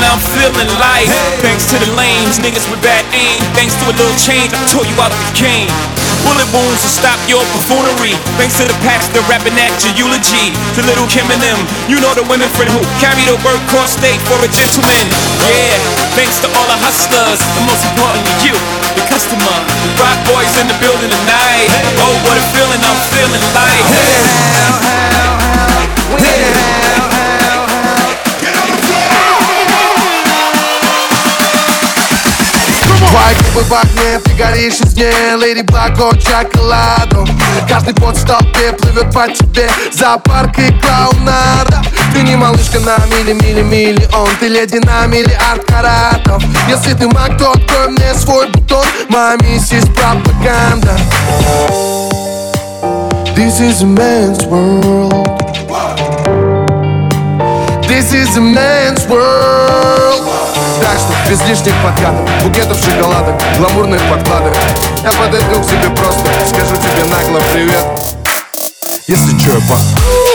I'm feeling like. Thanks to the lames, niggas with bad aim. Thanks to a little change, I tore you out the game. Bullet wounds to stop your buffoonery. Thanks to the pastor rapping at your eulogy. To Little Kim and them, you know the women friend who carry the workhorse state for a gentleman. Yeah, thanks to all the hustlers, and most importantly you, the customer. The rock boys in the building tonight. Oh, what a feeling I'm feeling like. Твои губы в огне, ты горишь из дне. Леди Баг от шоколаду. Каждый пот в толпе плывет по тебе. Зоопарк и клоунада. Ты не малышка на миллион. Ты леди на миллиард каратов. Если ты маг, то открой мне свой бутон. Моя миссис пропаганда. This is a man's world. This is a man's world. Так что без лишних подкатов, букетов шоколадок, гламурных подкладок. Я подойду к тебе просто, скажу тебе нагло привет. Если чё, я пас.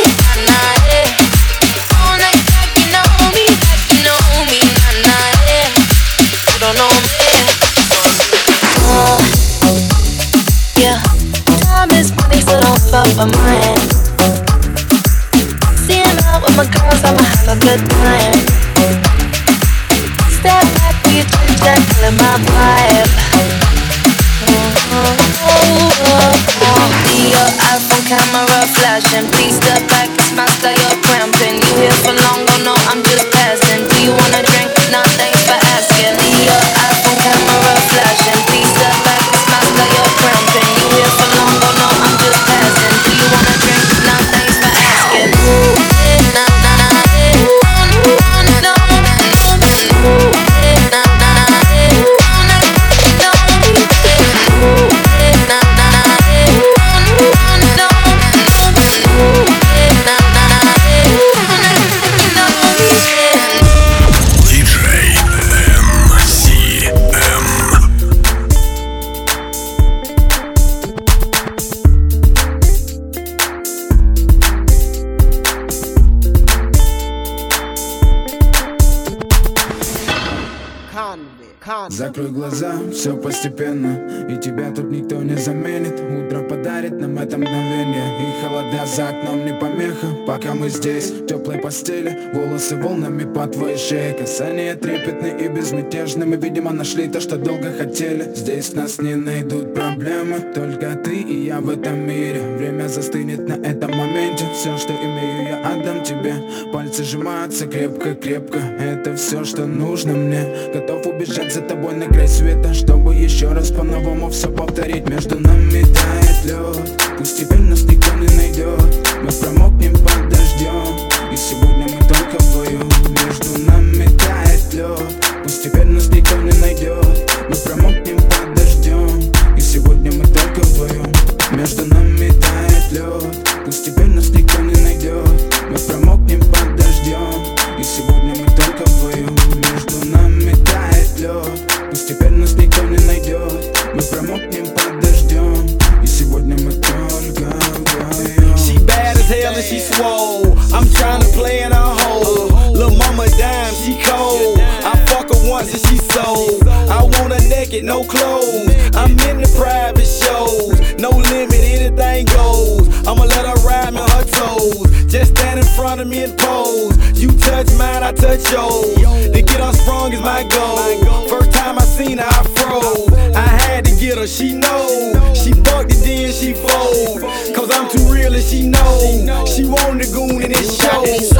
My girls, I'ma have a good time. Step back, be a chit chat, killing my vibe. See your iPhone camera flashing. Please step back, it's my style, you're cramping. You here for long, don't know, I'm just passing. Do you wanna drink? Nah, thanks for asking. See your iPhone camera flashing. Please step back, it's my style, you're cramping. You here for long, don't know, I'm just passing. Do you wanna drink? Nah, thanks for asking. Закрой глаза, все постепенно, и тебя тут никто не заменит. Утро подарит нам это мгновение, и холода за окном не помеха. Пока мы здесь, в теплой постели, волосы волнами по твоей шее. Касания трепетны и безмятежны. Мы, видимо, нашли то, что долго хотели. Здесь нас не найдут проблемы, только ты и я в этом мире. Время застынет на этом моменте. Все, что имею, я отдам тебе. Пальцы сжимаются крепко-крепко. Это все, что нужно мне. Готов убежать за тобой на край света, чтобы еще раз по-новому все повторить. Между нами тает лед, пусть теперь нас никто не найдет. Мы промокнем под дождем, и сегодня мы только вдвоем. Между нами тает лед, пусть теперь нас никто не найдет. Мы промокнем под дождем, и сегодня мы только вдвоем. Между нами тает лед, пусть теперь нас никто не найдет. Мы промокнем под дождем, и сегодня мы только вдвоем. Между нами тает лед, пусть теперь нас никто не найдет. Мы промокнем под дождем, и сегодня мы только вдвоем. She bad as hell and she swole. I'm tryna play in her hole. Lil' mama dime, she cold. I fuck her once and she sold. I want her naked, no clothes. I'm in the private shows. No limit, anything goes. I'ma let her ride me on her toes. Just stand in front of me and pose. You touch mine, I touch yours. To get unsprung is my goal. First time I seen her, I froze. I had to get her, she know. She bucked it, then she fold. Cause I'm too real and she know. She wanted the goon in this show.